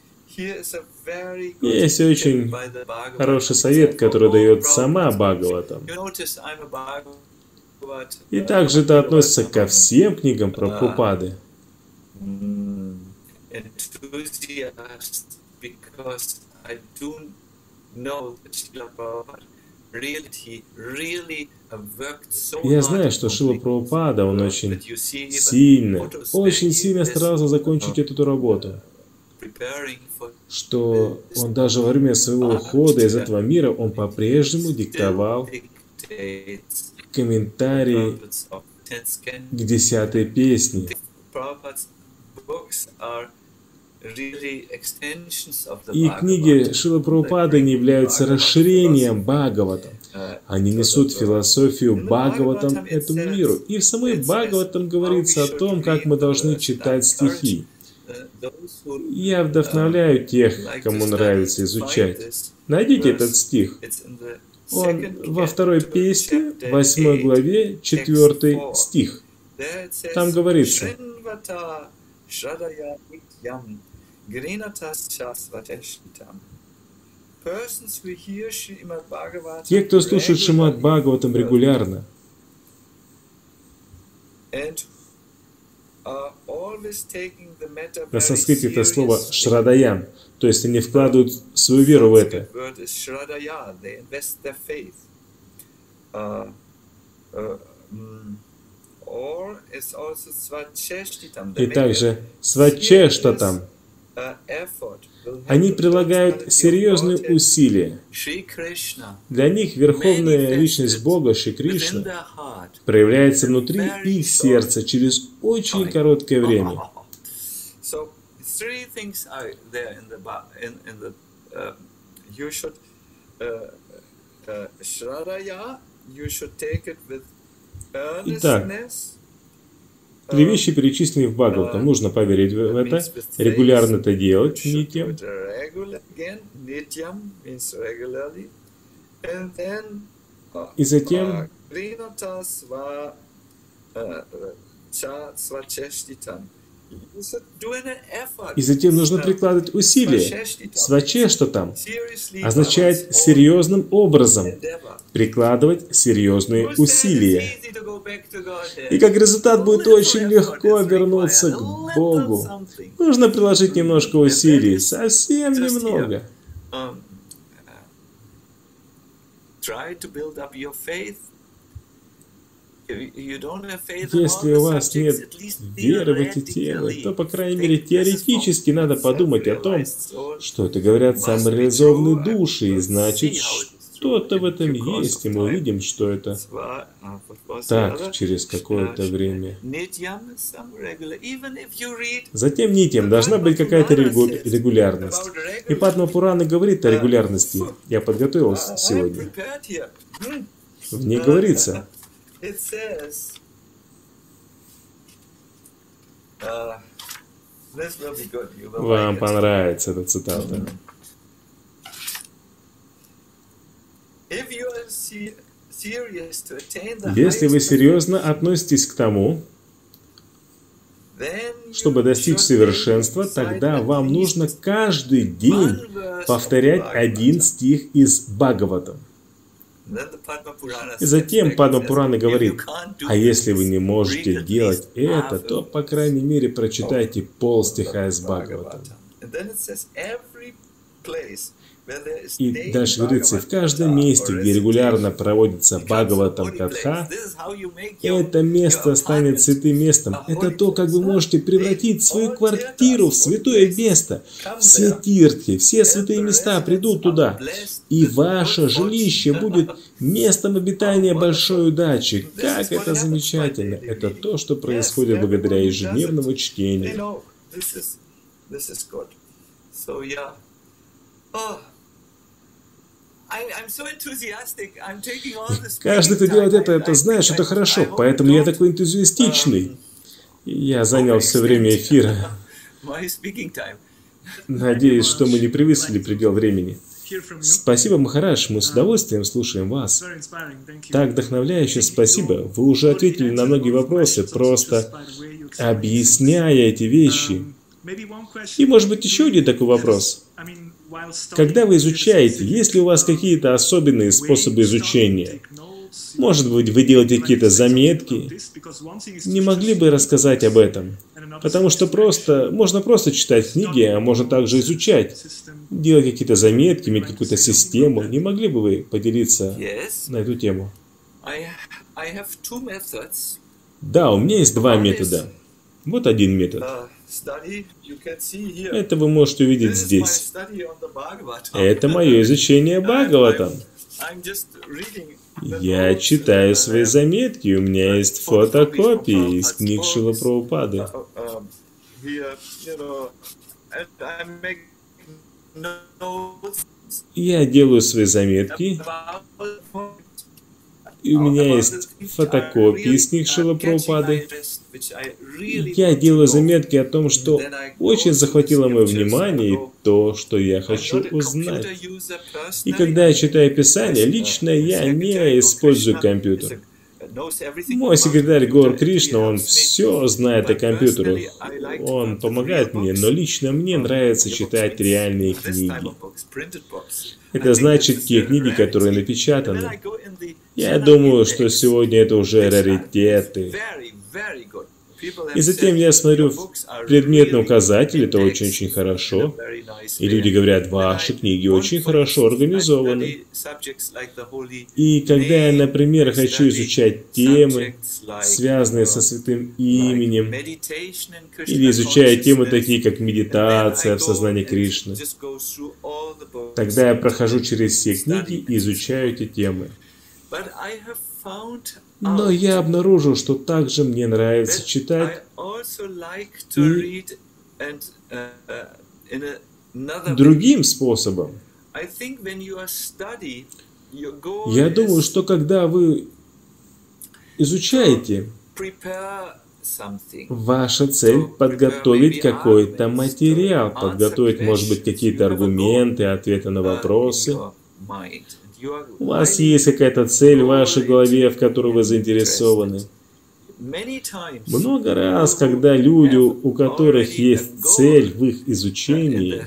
Есть очень хороший совет, который дает сама Бхагаватам. И также это относится ко всем книгам Прабхупады. Я знаю, что Шрила Прабхупада, он очень сильно, очень сильно старался закончить эту работу, что он даже во время своего ухода из этого мира, он по-прежнему диктовал комментарии к десятой песне. И книги Шрилы Прабхупады не являются расширением Бхагаватам. Они несут философию Бхагаватам этому миру. И в самой Бхагаватам говорится о том, как мы должны читать стихи. Я вдохновляю тех, кому нравится изучать. Найдите этот стих. Он во второй песне, восьмой главе, четвертый стих. Там говорится: те, кто слушает Шримад Бхагаватам регулярно, на санскрите это слово «шрадаям», то есть они вкладывают свою веру в это. И также свачештатам, Они прилагают серьезные усилия. Для них Верховная Личность Бога, Шри Кришна, проявляется внутри их сердца через очень короткое время. Итак, три вещи перечислены в Бхагаватам. Нужно поверить в это, регулярно это делать, нитьям. И затем И затем нужно прикладывать усилия. Свачештатам означает серьезным образом прикладывать серьезные усилия. И как результат будет очень легко вернуться к Богу. Нужно приложить немножко усилий, совсем немного. Если у вас нет веры в эти темы, то, по крайней мере, теоретически надо подумать о том, что это говорят самореализованные души, и значит, что-то в этом есть, и мы увидим, что это так через какое-то время. Затем нитьям должна быть какая-то регулярность. И Падма Пурана говорит о регулярности. Я подготовился сегодня. В ней говорится... It says, uh, this will be good. You will Вам like понравится эта цитата. If you are serious to attain the Если вы серьезно относитесь к тому, чтобы достичь совершенства, тогда вам нужно каждый день повторять один стих из Бхагаватам. И затем Падма Пурана говорит, а если вы не можете делать это, то, по крайней мере, прочитайте пол стиха из Бхагаватам. И дальше говорится, в каждом месте, где регулярно проводится Бхагаватам Катха, это место станет святым местом. Это то, как вы можете превратить свою квартиру в святое место. Все тиртхи, все святые места придут туда. И ваше жилище будет местом обитания большой удачи. Как это замечательно! Это то, что происходит благодаря ежедневному чтению. Каждый, кто делает это, это знает, что это хорошо. Поэтому я такой энтузиастичный. Я занял все время эфира. Надеюсь, что мы не превысили предел времени. Спасибо, Махарадж, мы с удовольствием слушаем вас. Так вдохновляюще, спасибо. Вы уже ответили на многие вопросы, просто объясняя эти вещи. И, может быть, еще один такой вопрос. Когда вы изучаете, есть ли у вас какие-то особенные способы изучения? Может быть, вы делаете какие-то заметки? Не могли бы рассказать об этом? Потому что просто, можно просто читать книги, а можно также изучать. Делать какие-то заметки, иметь какую-то систему. Не могли бы вы поделиться на эту тему? Да, у меня есть два метода. Вот один метод. Это вы можете увидеть здесь. Это мое изучение Бхагаватам. Я читаю свои заметки, у меня есть фотокопии из книг Шрилы Прабхупады. Я делаю свои заметки, и у меня есть фотокопии из книг Шрилы Прабхупады. Я делаю заметки о том, что очень захватило мое внимание и то, что я хочу узнать. И когда я читаю Писание, лично я не использую компьютер. Мой секретарь Гор Кришна, он все знает о компьютерах. Он помогает мне, но лично мне нравится читать реальные книги. Это значит, те книги, которые напечатаны. Я думаю, что сегодня это уже раритеты. И затем я смотрю в предметный указатель, это очень-очень хорошо. И люди говорят, ваши книги очень хорошо организованы. И когда я, например, хочу изучать темы, связанные со святым именем, или изучаю темы такие, как медитация в сознании Кришны, тогда я прохожу через все книги и изучаю эти темы. Но я обнаружил, что также мне нравится читать и другим способом. Я думаю, что когда вы изучаете, ваша цель — подготовить какой-то материал, подготовить, может быть, какие-то аргументы, ответы на вопросы. У вас есть какая-то цель в вашей голове, в которой вы заинтересованы. Много раз, когда люди, у которых есть цель в их изучении,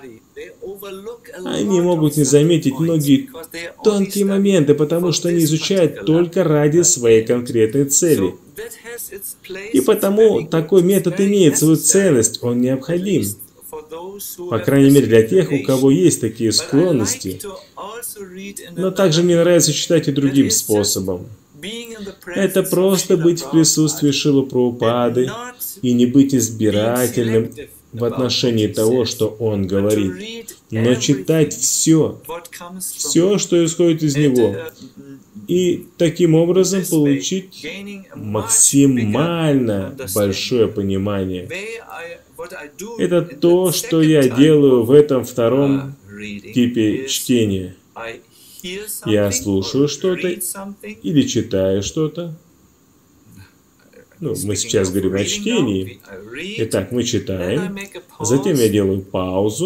они могут не заметить многие тонкие моменты, потому что они изучают только ради своей конкретной цели. И потому такой метод имеет свою ценность, он необходим. По крайней мере, для тех, у кого есть такие склонности. Но также мне нравится читать и другим способом. Это просто быть в присутствии Шрилы Прабхупады и не быть избирательным в отношении того, что он говорит, но читать все, все, что исходит из него, и таким образом получить максимально большое понимание. Это то, что я делаю в этом втором типе чтения. Я слушаю что-то или читаю что-то. Ну, мы сейчас говорим о чтении. Итак, мы читаем. Затем я делаю паузу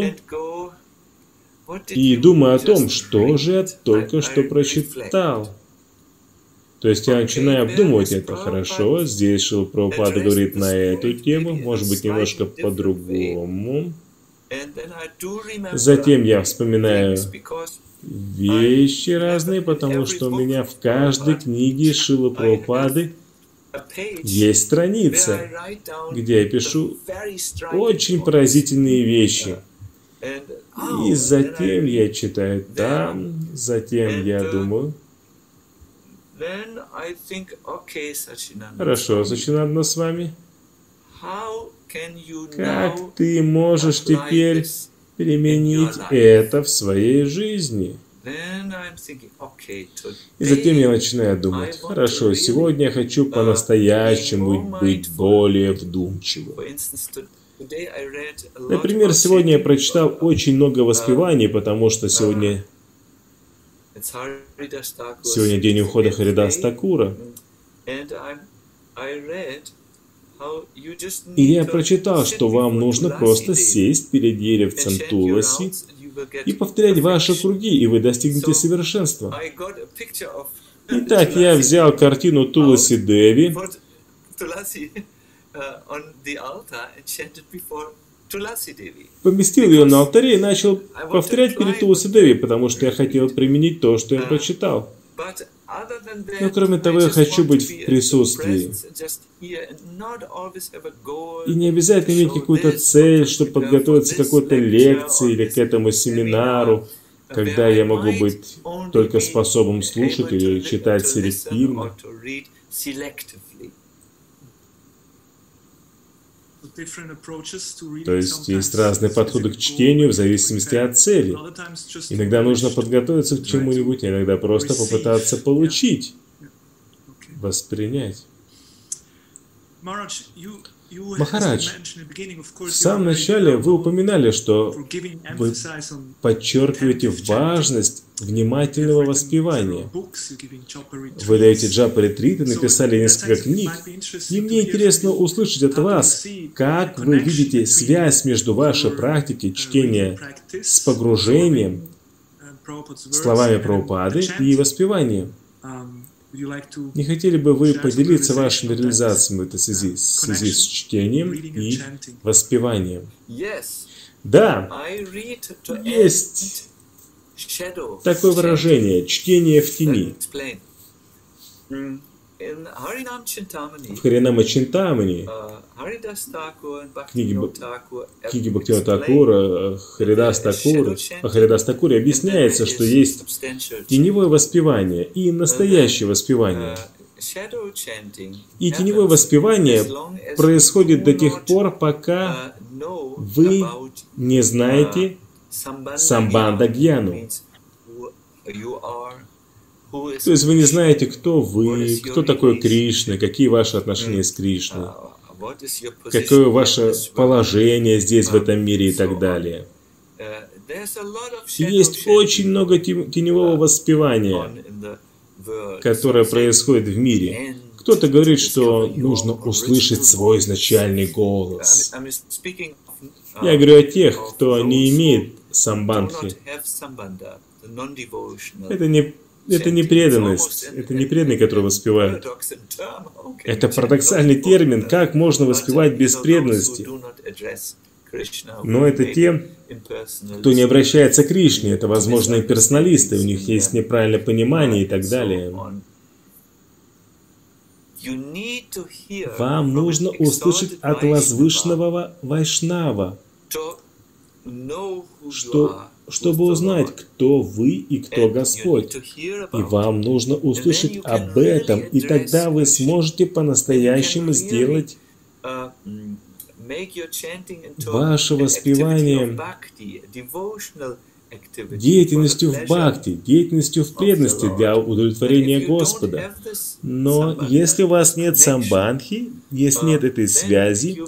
и думаю о том, что же я только что прочитал. То есть я начинаю обдумывать это. Хорошо, здесь Шрила Прабхупада говорит на эту тему, может быть, немножко по-другому. Затем я вспоминаю вещи разные, потому что у меня в каждой книге Шрилы Прабхупады есть страница, где я пишу очень поразительные вещи. И затем я читаю там, затем я думаю... Хорошо, Сачинандана с вами. Как ты можешь теперь применить это в своей жизни? И затем я начинаю думать, хорошо, сегодня я хочу по-настоящему быть более вдумчивым. Например, сегодня я прочитал очень много воспеваний, потому что сегодня... Сегодня день ухода Харидас Такура. И я прочитал, что вам нужно просто сесть перед деревцем Туласи и повторять ваши круги, и вы достигнете совершенства. Итак, я взял картину Туласи Деви поместил ее на алтаре и начал повторять перед Туласи Деви, потому что я хотел применить то, что я прочитал. Но кроме того, я хочу быть в присутствии. И не обязательно иметь какую-то цель, чтобы подготовиться к какой-то лекции или к этому семинару, когда я могу быть только способным слушать или читать селективно. То есть есть разные подходы к чтению в зависимости от цели. Иногда нужно подготовиться к чему-нибудь, а иногда просто попытаться получить, воспринять. Махарадж, в самом начале вы упоминали, что вы подчеркиваете важность внимательного воспевания. Вы даете джапа-ретриты, написали несколько книг, и мне интересно услышать от вас, как вы видите связь между вашей практикой чтения с погружением, словами Прабхупады и воспеванием. Не хотели бы вы поделиться вашими реализациями в этой связи, в связи с чтением и воспеванием? Да, есть такое выражение «чтение в тени». В Харинама Чинтамани, книге, книге Бхактивинода Thakura, Харидас Такур, о Харидас Такуре объясняется, что есть теневое воспевание и настоящее воспевание. И теневое воспевание происходит до тех пор, пока вы не знаете самбандха гьяну. То есть вы не знаете, кто вы, кто такой Кришна, какие ваши отношения с Кришной, какое ваше положение здесь, в этом мире и так далее. Есть очень много теневого воспевания, которое происходит в мире. Кто-то говорит, что нужно услышать свой изначальный голос. Я говорю о тех, кто не имеет самбандхи. Это не, это не преданность, это не преданные, которые воспевают. Это парадоксальный термин, как можно воспевать без преданности. Но это те, кто не обращается к Кришне, это, возможно, имперсоналисты, у них есть неправильное понимание и так далее. Вам нужно услышать от возвышенного Вайшнава, что, чтобы узнать, кто вы и кто Господь. И вам нужно услышать об этом, и тогда вы сможете по-настоящему сделать ваше воспевание деятельностью в бхакти, деятельностью в преданности для удовлетворения Господа. Но если у вас нет самбандхи, если нет этой связи,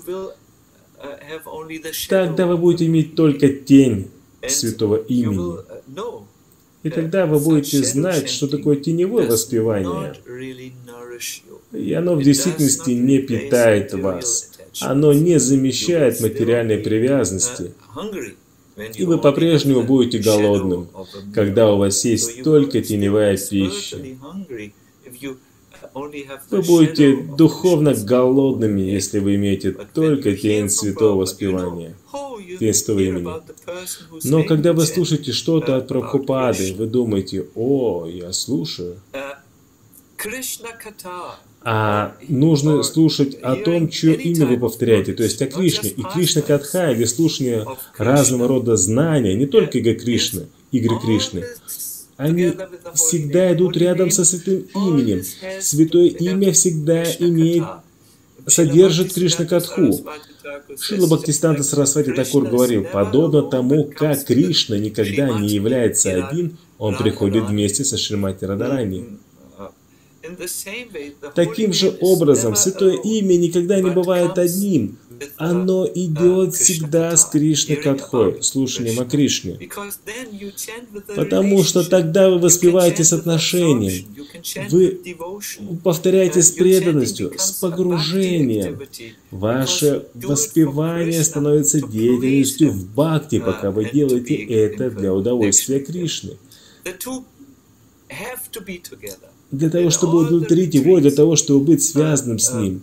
тогда вы будете иметь только тень святого имени. И тогда вы будете знать, что такое теневое воспевание. И оно в действительности не питает вас. Оно не замещает материальной привязанности. И вы по-прежнему будете голодным, когда у вас есть только теневая пища. Вы будете духовно голодными, если вы имеете только тень святого воспевания, тень святого имени. Но когда вы слушаете что-то от Прабхупады, вы думаете: «О, я слушаю». А нужно слушать о том, чье имя вы повторяете, то есть о Кришне. И Кришна Катха, или слушание разного рода знания, не только Иго Кришны, игры Кришны, они всегда идут рядом со святым именем. Святое имя всегда имеет, содержит Кришна Катху. Шрила Бхактисиданта Сарасвати Такур говорил: подобно тому, как Кришна никогда не является один, он приходит вместе со Шримати Радхарани. Таким же образом, святое имя никогда не бывает одним. Оно идет всегда с Кришной Катхой, слушанием о Кришне. Потому что тогда вы воспеваете с отношением, вы повторяете с преданностью, с погружением. Ваше воспевание становится деятельностью в бхакти, пока вы делаете это для удовольствия Кришны. Для того, чтобы удовлетворить его, для того, чтобы быть связанным с ним.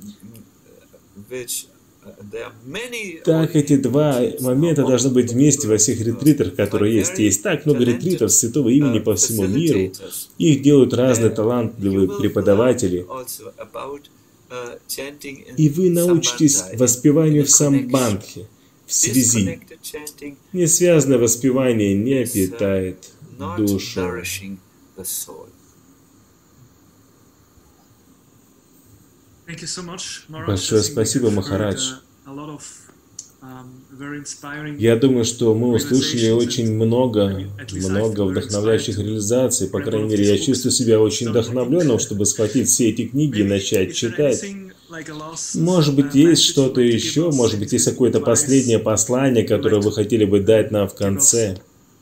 Так эти два момента должны быть вместе во всех ретритах, которые есть. Есть так много ретритов святого имени по всему миру. Их делают разные талантливые преподаватели. И вы научитесь воспеванию в самбандхе, в связи. Несвязанное воспевание не питает душу. Большое спасибо, Махарадж. Я думаю, что мы услышали очень много, много вдохновляющих реализаций. По крайней мере, я чувствую себя очень вдохновленным, чтобы схватить все эти книги и начать читать. Может быть, есть что-то еще, может быть, есть какое-то последнее послание, которое вы хотели бы дать нам в конце.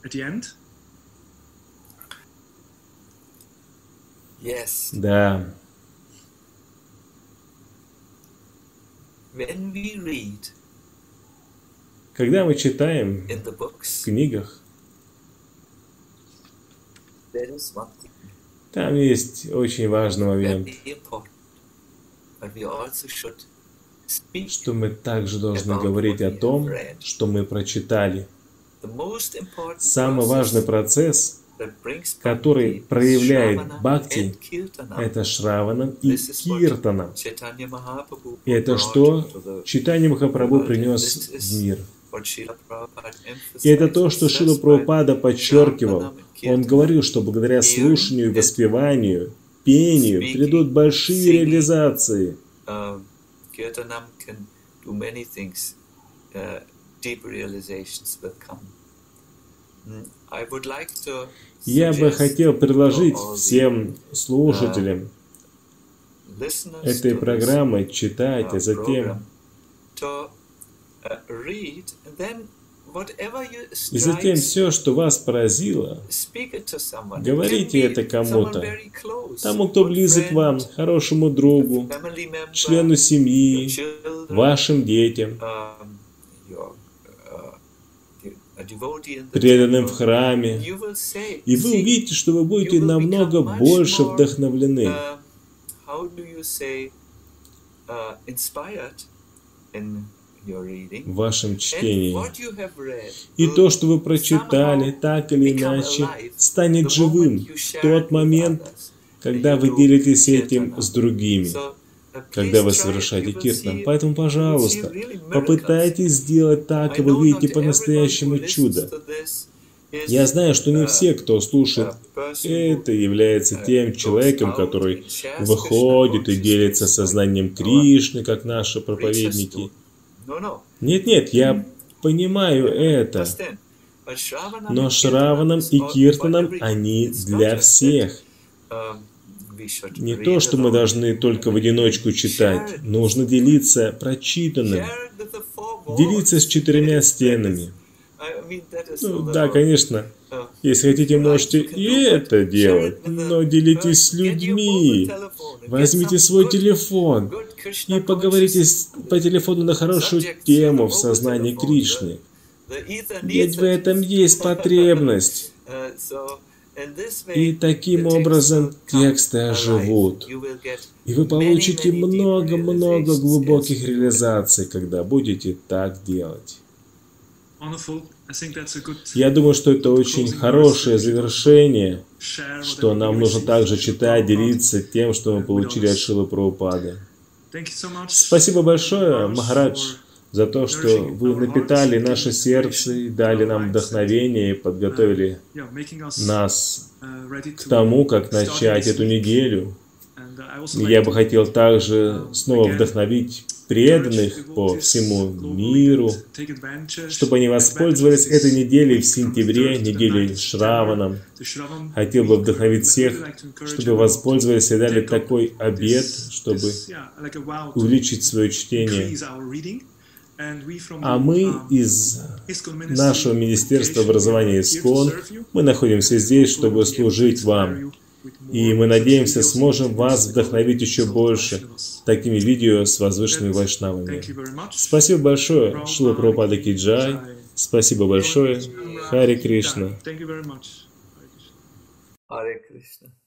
Да. Когда мы читаем в книгах, там есть очень важный момент, что мы также должны говорить о том, что мы прочитали. Самый важный процесс который проявляет бхакти, это Шраванам и Киртанам. И это что Чайтанья Махапрабху принес в мир. И это то, что Шрила Прабхупада подчеркивал. Он говорил, что благодаря слушанию и воспеванию, пению придут большие реализации. Я бы хотел предложить всем слушателям этой программы читать, а затем и затем все, что вас поразило, говорите это кому-то, тому, кто близок вам, хорошему другу, члену семьи, вашим детям, преданным в храме, и вы увидите, что вы будете намного больше вдохновлены. В вашем чтении. И то, что вы прочитали, так или иначе, станет живым в тот момент, когда вы делитесь этим с другими, когда вы совершаете киртан. Поэтому, пожалуйста, попытайтесь сделать так, и вы видите по-настоящему чудо. Я знаю, что не все, кто слушает это, является тем человеком, который выходит и делится сознанием Кришны, как наши проповедники. Нет-нет, я понимаю это. Но Шраванам и Киртанам они для всех. Не то, что мы должны только в одиночку читать. Нужно делиться прочитанным. Делиться с четырьмя стенами. Ну, да, конечно. Если хотите, можете и это делать. Но делитесь с людьми. Возьмите свой телефон и поговорите по телефону на хорошую тему в сознании Кришны. Ведь в этом есть потребность. И таким образом тексты оживут. И вы получите много-много глубоких реализаций, когда будете так делать. Я думаю, что это очень хорошее завершение, что нам нужно также читать, делиться тем, что мы получили от Шрилы Прабхупады. Спасибо большое, Махарадж, за то, что вы напитали наше сердце, и дали нам вдохновение и подготовили нас к тому, как начать эту неделю. Я бы хотел также снова вдохновить преданных по всему миру, чтобы они воспользовались этой неделей в сентябре, неделей Шраванам. Хотел бы вдохновить всех, чтобы воспользовались и дали такой обет, чтобы увеличить свое чтение. А мы из нашего Министерства образования ИСККОН, мы находимся здесь, чтобы служить вам. И мы надеемся, сможем вас вдохновить еще больше такими видео с возвышенными вайшнавами. Спасибо большое, Шрила Прабхупада Ки Джай. Спасибо большое. Харе Кришна. Hare Krishna.